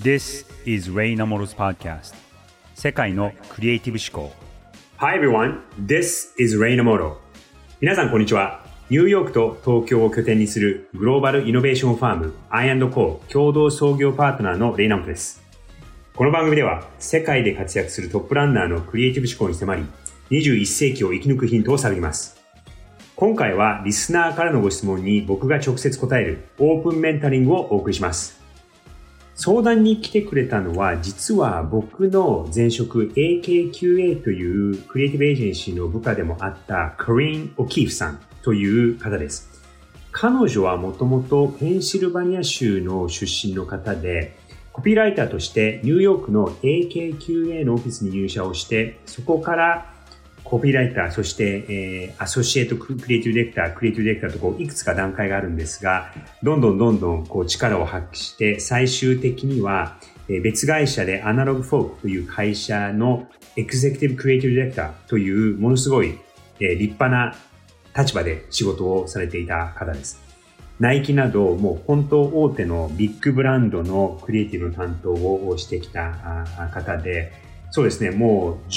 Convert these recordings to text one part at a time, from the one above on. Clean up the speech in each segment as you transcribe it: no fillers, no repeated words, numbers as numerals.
This is Ray Namoto's podcast. 世界のクリエイティブ思考。 Hi everyone, this is Ray Namoto. 皆さんこんにちは。ニューヨークと東京を拠点にするグローバルイノベーションファーム I&Co 共同創業パートナーのレイナモトです。この番組では世界で活躍するトップランナーのクリエイティブ思考に迫り、21世紀を生き抜くヒントを探ります。今回はリスナーからのご質問に僕が直接答えるオープンメンタリングをお送りします。相談に来てくれたのは、実は僕の前職 AKQA というクリエイティブエージェンシーの部下でもあったカリン・オキーフさんという方です。彼女はもともとペンシルバニア州の出身の方で、コピーライターとしてニューヨークの AKQA のオフィスに入社をして、そこからコピーライター、そして、アソシエイトクリエイティブディレクター、クリエイティブディレクターとこういくつか段階があるんですが、どんどんこう力を発揮して、最終的には、別会社でアナログフォークという会社のエグゼクティブクリエイティブディレクターというものすごい、立派な立場で仕事をされていた方です。ナイキなどもう本当大手のビッグブランドのクリエイティブの担当をしてきた方で、そうですね、もう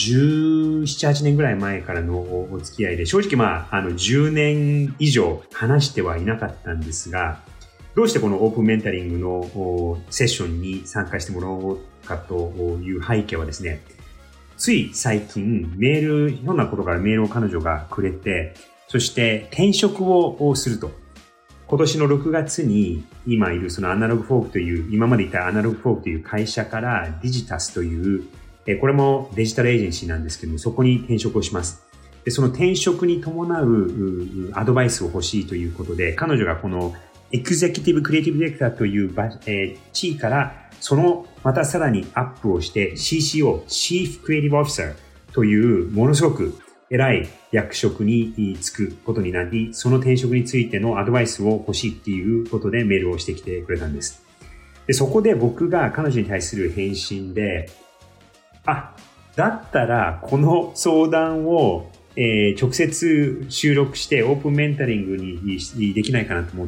17、8年ぐらい前からのお付き合いで、正直10年以上話してはいなかったんですが、どうしてこのオープンメンタリングのセッションに参加してもらおうかという背景はですね、つい最近ひょんなことからメールを彼女がくれて、そして転職をすると。今年の6月に今いるそのアナログフォークという、今までいたアナログフォークという会社からディジタスという、これもデジタルエージェンシーなんですけども、そこに転職をします。で、その転職に伴うアドバイスを欲しいということで、彼女がこのエグゼクティブクリエイティブディレクターという地位から、またさらにアップをして CCO、Chief Creative Officer というものすごく偉い役職に就くことになり、その転職についてのアドバイスを欲しいっていうことでメールをしてきてくれたんです。で、そこで僕が彼女に対する返信で、だったらこの相談を、直接収録してオープンメンタリングにできないかなと思って、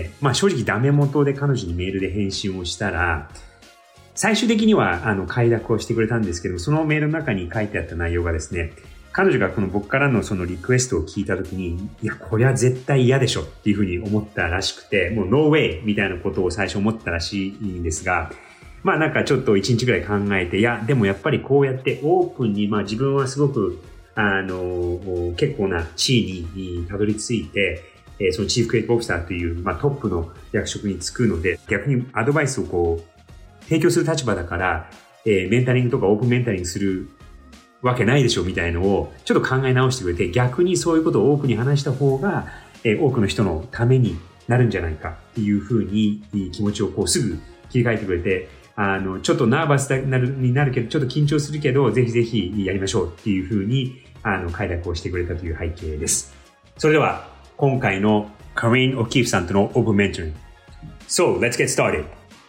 正直ダメ元で彼女にメールで返信をしたら、最終的には快諾をしてくれたんですけど、そのメールの中に書いてあった内容がですね、彼女がこの僕からのそのリクエストを聞いたときに、いや、これは絶対嫌でしょっていうふうに思ったらしくて、もうノーウェイみたいなことを最初思ったらしいんですが、なんかちょっと1日ぐらい考えて、いや、でもやっぱりこうやってオープンに、自分はすごく、結構な地位にたどり着いて、そのチーフクリエイティブオフィサーという、トップの役職に就くので、逆にアドバイスをこう、提供する立場だから、メンタリングとかオープンメンタリングするわけないでしょみたいのを、ちょっと考え直してくれて、逆にそういうことをオープンに話した方が、多くの人のためになるんじゃないかっていうふうに気持ちをこうすぐ切り替えてくれて、ちょっとナーバスになるけど、ちょっと緊張するけど、ぜひぜひやりましょうっていうふうに、快諾をしてくれたという背景です。それでは、今回のカリン・オキーフさんとのオープンメンタリング。So, let's get started.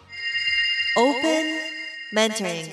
Open Mentoring.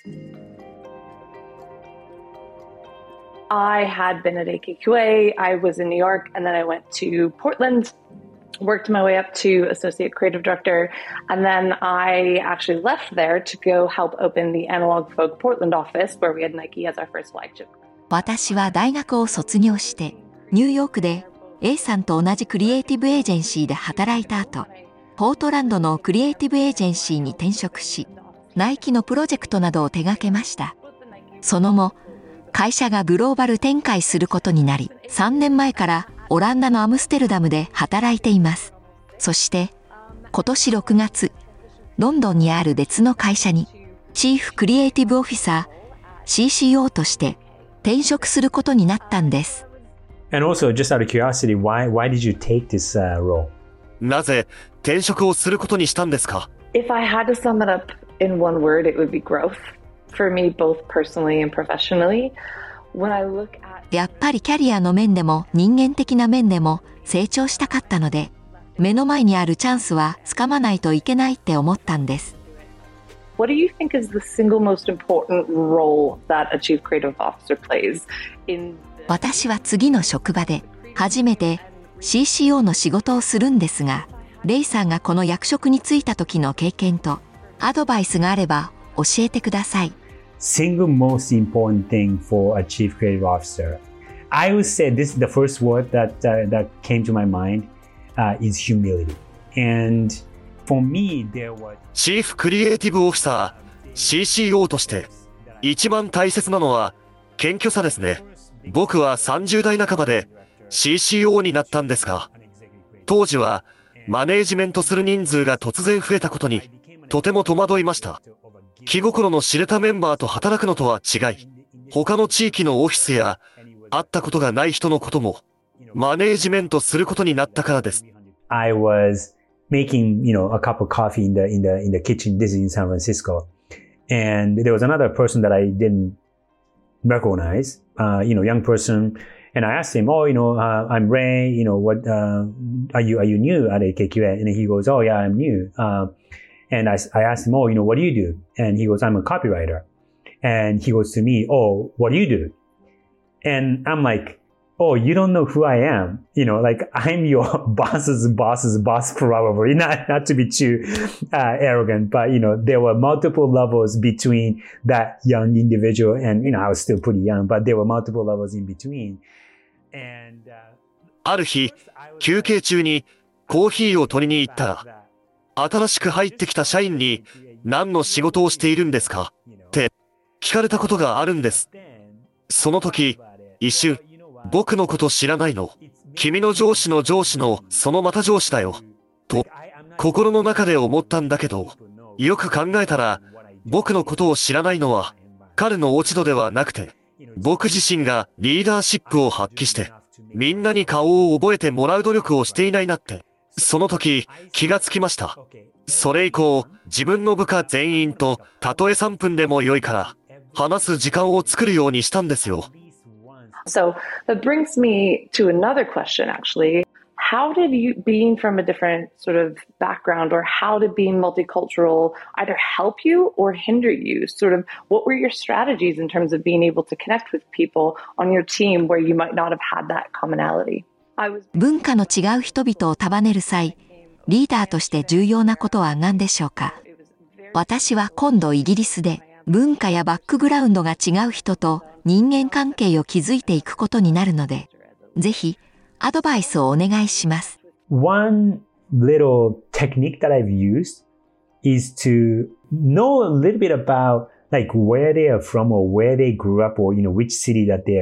I had been at AKQA. I was in New York, and then I went to Portland.Worked my way up to associate creative director, and then I actually left there to go help open the Analog Folk Portland office where we had Nike as our first flagship. 私は大学を卒業してニューヨークで A さんと同じクリエイティブエージェンシーで働いた後、ポートランドのクリエイティブエージェンシーに転職し、ナイキのプロジェクトなどを手掛けました。その後、会社がグローバル展開することになり、3年前からオランダのアムステルダムで働いています。そして今年6月、ロンドンにある別の会社にチーフクリエイティブオフィサー CCO として転職することになったんです。 And also, just out of curiosity, why did you take this role? なぜ転職をすることにしたんですか？ If I had to sum it up in one word, it would be growth. For me, both personally and professionally. When I look at... やっぱりキャリアの面でも人間的な面でも成長したかったので、目の前にあるチャンスはつかまないといけないって思ったんです。 What do you think is the single most important role that a chief creative officer plays in... 私は次の職場で初めて CCO の仕事をするんですが、レイさんがこの役職に就いた時の経験とアドバイスがあれば教えてください。 Single most important thing for a chief creative officer. I would say this is the first word that came to my mind is humility. And for me, there was チーフクリエイティブオフィサー、CCO として、一番大切なのは、謙虚さですね。僕は30代半ばで CCO になったんですが、当時はマネージメントする人数が突然増えたことに、とても戸惑いました。気心の知れたメンバーと働くのとは違い、他の地域のオフィスや会ったことがない人のこともマネージメントすることになったからです。 I was making, a cup of coffee in the kitchen. This is in San Francisco. And there was another person that I didn't recognize, young person. And I asked him, I'm Ray, what, are you new at AKQA? And he goes, oh yeah, I'm new. And I asked him, what do you do? And he goes, I'm a copywriter. And he goes to me, oh, what do you do? And I'm like, oh, you don't know who I am. I'm your boss's boss probably. Not to be too arrogant, but, there were multiple levels between that young individual and, I was still pretty young, but there were multiple levels in between. And, ある日、休憩中にコーヒーを取りに行ったら、新しく入ってきた社員に何の仕事をしているんですかって聞かれたことがあるんです。その時、一瞬、僕のこと知らないの？君の上司の上司のそのまた上司だよ。と、心の中で思ったんだけど、よく考えたら、僕のことを知らないのは、彼の落ち度ではなくて、僕自身がリーダーシップを発揮して、みんなに顔を覚えてもらう努力をしていないなって、その時、気がつきました。それ以降、自分の部下全員と、たとえ3分でも良いから、話す時間を作るようにしたんですよ。 So that brings me to another question, actually. How did you, being from a different sort of background, or how did being multicultural either help you or hinder you? Sort of, what were your strategies in terms of being able to connect with people on your team where you might not have had that commonality? 文化の違う人々を束ねる際、リーダーとして重要なことは何でしょうか？私は今度イギリスで文化やバックグラウンドが違う人と人間関係を築いていくことになるので、ぜひアドバイスをお願いします。 One little technique that I've used is to know a little bit about like where they are from or where they grew up or which city that they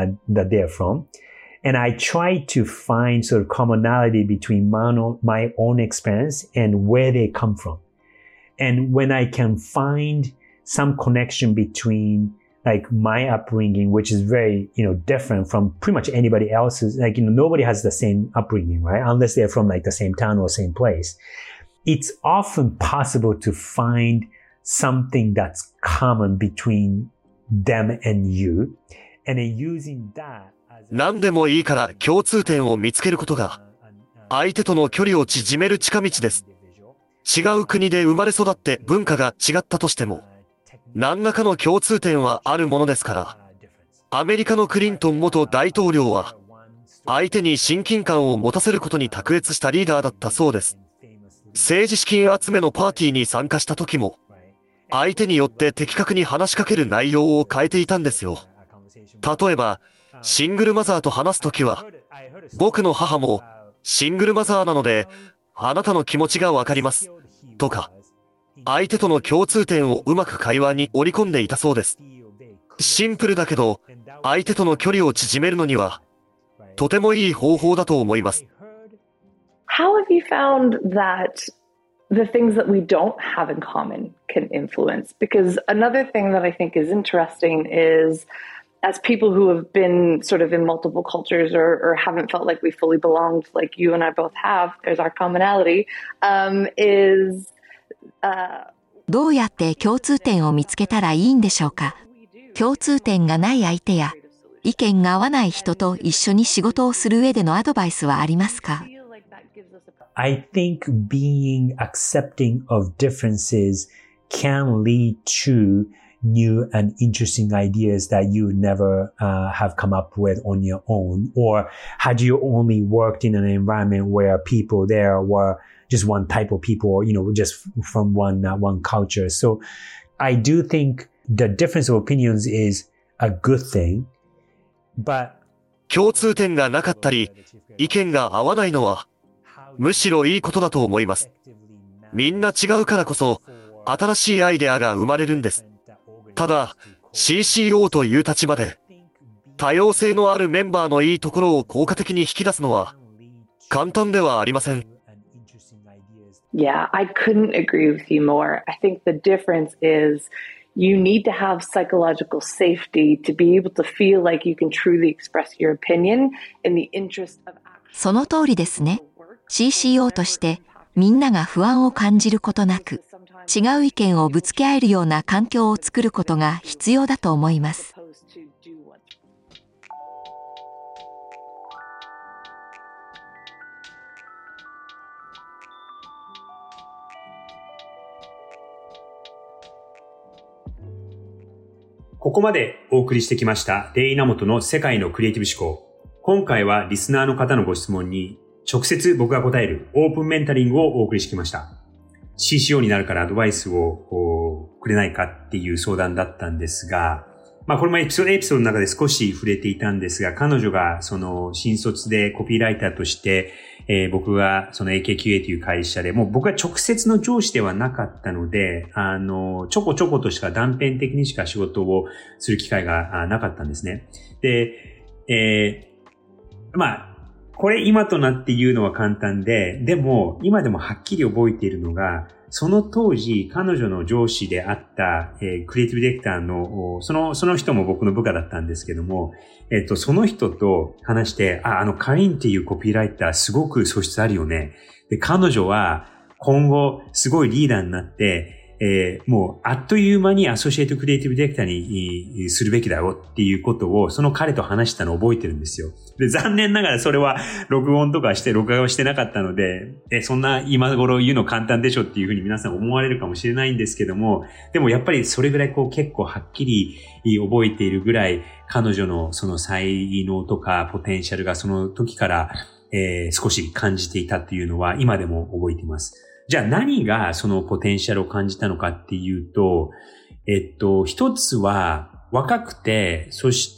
are from. And I try to find sort of commonality between my own experience and where they come from. And when I can find some connection between like my upbringing, which is very, different from pretty much anybody else's, like, nobody has the same upbringing, right? Unless they're from like the same town or same place. It's often possible to find something that's common between them and you. And then using that, 何でもいいから共通点を見つけることが、相手との距離を縮める近道です。違う国で生まれ育って文化が違ったとしても、何らかの共通点はあるものですから、アメリカのクリントン元大統領は、相手に親近感を持たせることに卓越したリーダーだったそうです。政治資金集めのパーティーに参加した時も、相手によって的確に話しかける内容を変えていたんですよ。例えば、シングルマザーと話すときは、僕の母もシングルマザーなので、あなたの気持ちがわかります。とか、相手との共通点をうまく会話に織り込んでいたそうです。シンプルだけど、相手との距離を縮めるのには、とてもいい方法だと思います。 How have you found that the things that we don't have in common can influence? Because another thing that I think is interesting is, as people who have been sort of in multiple cultures or haven't felt like we fully belonged, like you and I both have, there's our commonality, is... どうやって共通点を見つけたらいいんでしょうか？共通点がない相手や意見が合わない人と一緒に仕事をする上でのアドバイスはありますか？ I think being accepting of differences can lead to new and interesting ideas that you never have come up with on your own? Or had you only worked in an environment where people there were just one type of people, just from one culture? So I do think the difference of opinions is a good thing, but 共通点がなかったり、意見が合わないのは、むしろいいことだと思います。みんな違うからこそ、新しいアイデアが生まれるんです。ただ、CCO という立場で、多様性のあるメンバーのいいところを効果的に引き出すのは、簡単ではありません。 Yeah, I couldn't agree with you more. I think the difference is you need to have psychological safety to be able to feel like you can truly express your opinion in the interest of action. その通りですね。CCO としてみんなが不安を感じることなく、違う意見をぶつけ合えるような環境を作ることが必要だと思います。 ここまでお送りしてきましたレイナモトの世界のクリエイティブ思考。今回はリスナーの方のご質問に直接僕が答えるオープンメンタリングをお送りしてきました。CCO になるからアドバイスをくれないかっていう相談だったんですが、これもエピソードの中で少し触れていたんですが、彼女がその新卒でコピーライターとして、僕がその AKQA という会社で、もう僕は直接の上司ではなかったので、ちょこちょことしか断片的にしか仕事をする機会がなかったんですね。で、これ今となって言うのは簡単で、でも今でもはっきり覚えているのが、その当時彼女の上司であった、クリエイティブディレクターのその人も僕の部下だったんですけども、その人と話して、カリンっていうコピーライターすごく素質あるよね。で、彼女は今後すごいリーダーになって、もうあっという間にアソシエイトクリエイティブディレクターにするべきだよっていうことをその彼と話したのを覚えてるんですよ。で、残念ながらそれは録画をしてなかったので、そんな今頃言うの簡単でしょっていうふうに皆さん思われるかもしれないんですけども、でもやっぱりそれぐらい結構はっきり覚えているぐらい彼女のその才能とかポテンシャルがその時から、少し感じていたっていうのは今でも覚えています。じゃあ何がそのポテンシャルを感じたのかっていうと、一つは若くて、そして、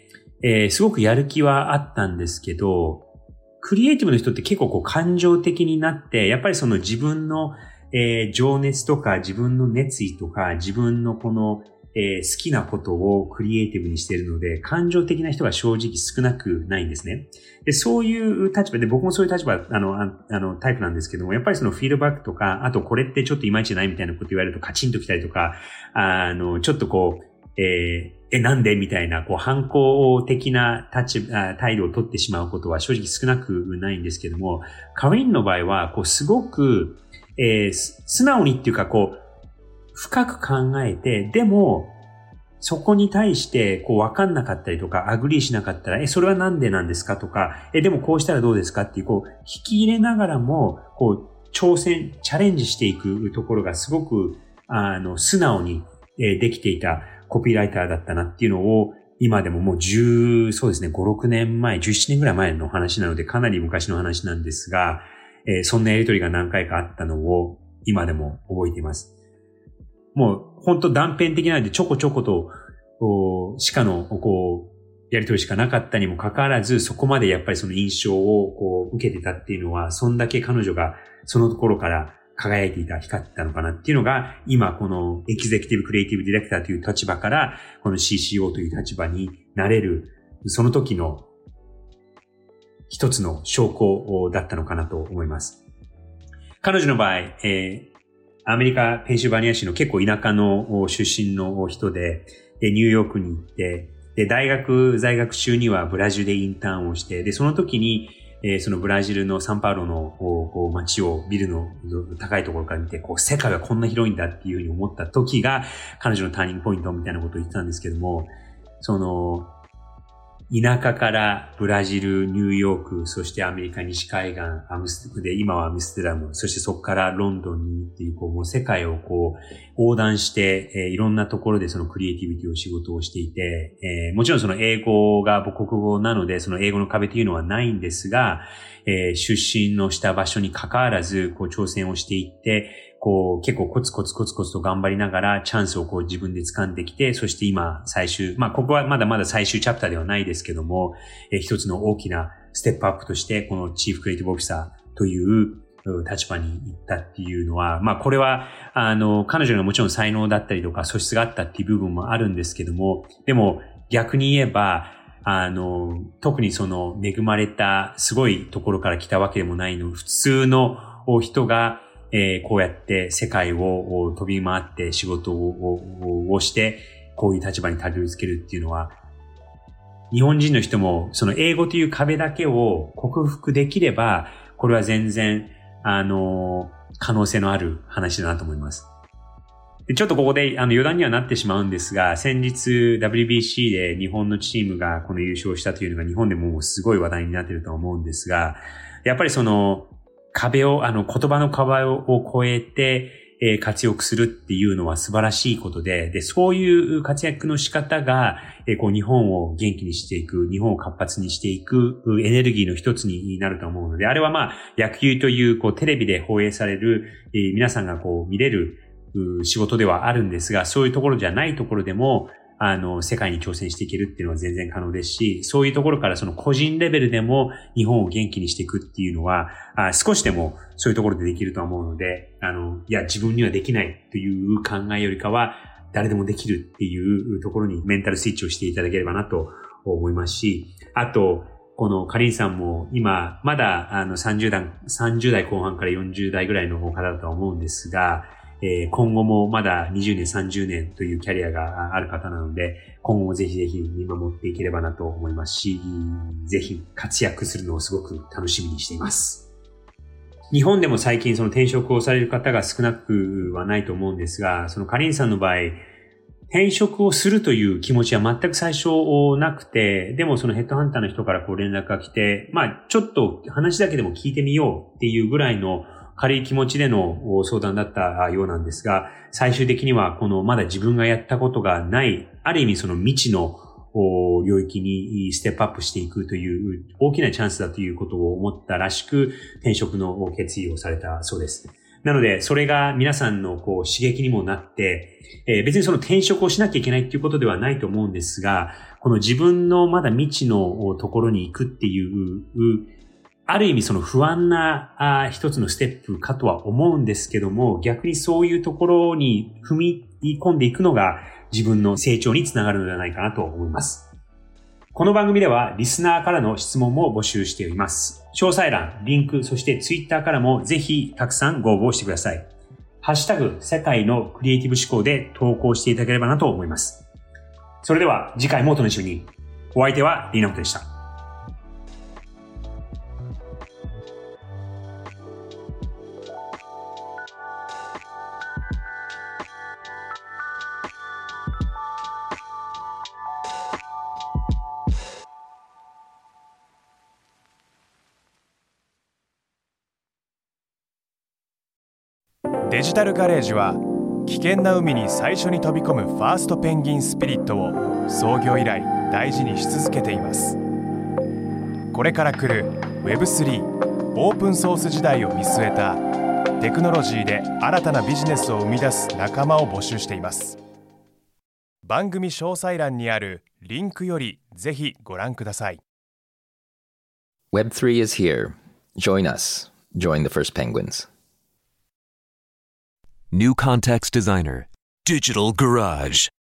すごくやる気はあったんですけど、クリエイティブの人って結構感情的になって、やっぱりその自分の、情熱とか自分の熱意とか自分の好きなことをクリエイティブにしているので、感情的な人が正直少なくないんですね。で、そういう立場で、僕もそういう立場、タイプなんですけども、やっぱりそのフィードバックとか、あとこれってちょっといまいちじゃないみたいなこと言われるとカチンときたりとか、ちょっとなんでみたいな、反抗的な態度を取ってしまうことは正直少なくないんですけども、カリンの場合は、すごく、素直にっていうか、深く考えて、でも、そこに対して、わかんなかったりとか、アグリーしなかったら、それはなんでなんですかとか、でもこうしたらどうですかっていう、引き入れながらも、チャレンジしていくところがすごく、素直に、できていたコピーライターだったなっていうのを、今でももうそうですね、5、6年前、17年ぐらい前の話なので、かなり昔の話なんですが、そんなやりとりが何回かあったのを、今でも覚えています。もう、本当断片的なので、ちょこちょことしかの、やりとりしかなかったにもかかわらず、そこまでやっぱりその印象を受けてたっていうのは、そんだけ彼女がそのところから輝いていた、光ってたのかなっていうのが、今このエグゼクティブクリエイティブディレクターという立場から、この CCO という立場になれる、その時の一つの証拠だったのかなと思います。彼女の場合、アメリカ、ペンシルバニア州の結構田舎の出身の人で、ニューヨークに行って、で、在学中にはブラジルでインターンをして、で、その時に、そのブラジルのサンパウロの街をビルの高いところから見て、世界はこんな広いんだっていうふうに思った時が、彼女のターニングポイントみたいなことを言ってたんですけども、 田舎からブラジル、ニューヨーク、そしてアメリカ西海岸、で、今はアムステルダム、そしてそこからロンドンにっていう、もう世界を横断して、いろんなところでそのクリエイティビティを仕事をしていて、もちろんその英語が母国語なので、その英語の壁というのはないんですが、出身のした場所に関わらず、挑戦をしていって、結構コツコツと頑張りながらチャンスを自分で掴んできて、そして今ここはまだまだ最終チャプターではないですけども、一つの大きなステップアップとして、このチーフクリエイティブオフィサーという立場に行ったっていうのは、これは、彼女がもちろん才能だったりとか素質があったっていう部分もあるんですけども、でも逆に言えば、特にその恵まれたすごいところから来たわけでもないの、普通の人が、こうやって世界を飛び回って仕事をして、こういう立場にたどり着けるっていうのは、日本人の人もその英語という壁だけを克服できれば、これは全然、可能性のある話だなと思います。でちょっとここで余談にはなってしまうんですが、先日 WBC で日本のチームがこの優勝したというのが日本でもすごい話題になっていると思うんですが、やっぱりその壁を、言葉の壁を越えて、活躍するっていうのは素晴らしいことで、そういう活躍の仕方が、日本を元気にしていく、日本を活発にしていくエネルギーの一つになると思うので、あれは野球という、テレビで放映される、皆さんが見れる仕事ではあるんですが、そういうところじゃないところでも、世界に挑戦していけるっていうのは全然可能ですし、そういうところからその個人レベルでも日本を元気にしていくっていうのは、少しでもそういうところでできると思うので、いや、自分にはできないという考えよりかは、誰でもできるっていうところにメンタルスイッチをしていただければなと思いますし、あと、このカリンさんも今、まだ30代後半から40代ぐらいの方だとは思うんですが、今後もまだ20年、30年というキャリアがある方なので、今後もぜひぜひ見守っていければなと思いますし、ぜひ活躍するのをすごく楽しみにしています。日本でも最近その転職をされる方が少なくはないと思うんですが、そのカリンさんの場合、転職をするという気持ちは全く最初なくて、でもそのヘッドハンターの人から連絡が来て、ちょっと話だけでも聞いてみようっていうぐらいの軽い気持ちでの相談だったようなんですが、最終的にはまだ自分がやったことがない、ある意味その未知の領域にステップアップしていくという大きなチャンスだということを思ったらしく、転職の決意をされたそうです。なので、それが皆さんの刺激にもなって、別にその転職をしなきゃいけないっていうことではないと思うんですが、この自分のまだ未知のところに行くっていう、ある意味その不安な一つのステップかとは思うんですけども、逆にそういうところに踏み込んでいくのが自分の成長につながるのではないかなと思います。この番組ではリスナーからの質問も募集しています。詳細欄、リンク、そしてツイッターからもぜひたくさんご応募してください。ハッシュタグ世界のクリエイティブ思考で投稿していただければなと思います。それでは次回もお楽しみに。お相手はリーナモトでした。 デジタルガレージは危険な海に最初に飛び込むファーストペンギンスピリットを創業以来大事にし続けています。これから来る Web3 オープンソース時代を見据えたテクノロジーで新たなビジネスを生み出す仲間を募集しています。番組詳細欄にあるリンクよりぜひご覧ください。 Web3 is here. Join us. Join the first penguins. New Context Designer, Digital Garage.